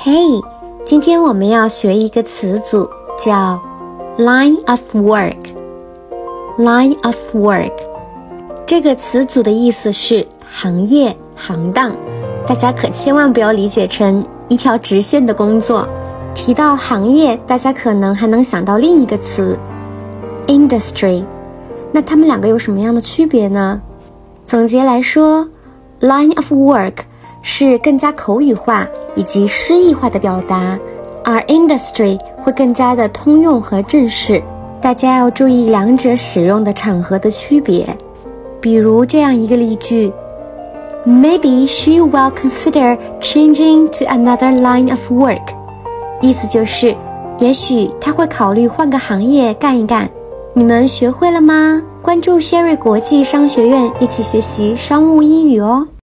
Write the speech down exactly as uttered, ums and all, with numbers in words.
嘿，今天我们要学一个词组，叫 line of work。line of work 这个词组的意思是行业、行当，大家可千万不要理解成一条直线的工作。提到行业，大家可能还能想到另一个词 industry， 那它们两个有什么样的区别呢？总结来说， line of work 是更加口语化以及诗意化的表达，而 industry 会更加的通用和正式，大家要注意两者使用的场合的区别。比如这样一个例句， Maybe she will consider changing to another line of work， 意思就是也许她会考虑换个行业干一干。你们学会了吗？关注谢瑞国际商学院，一起学习商务英语哦。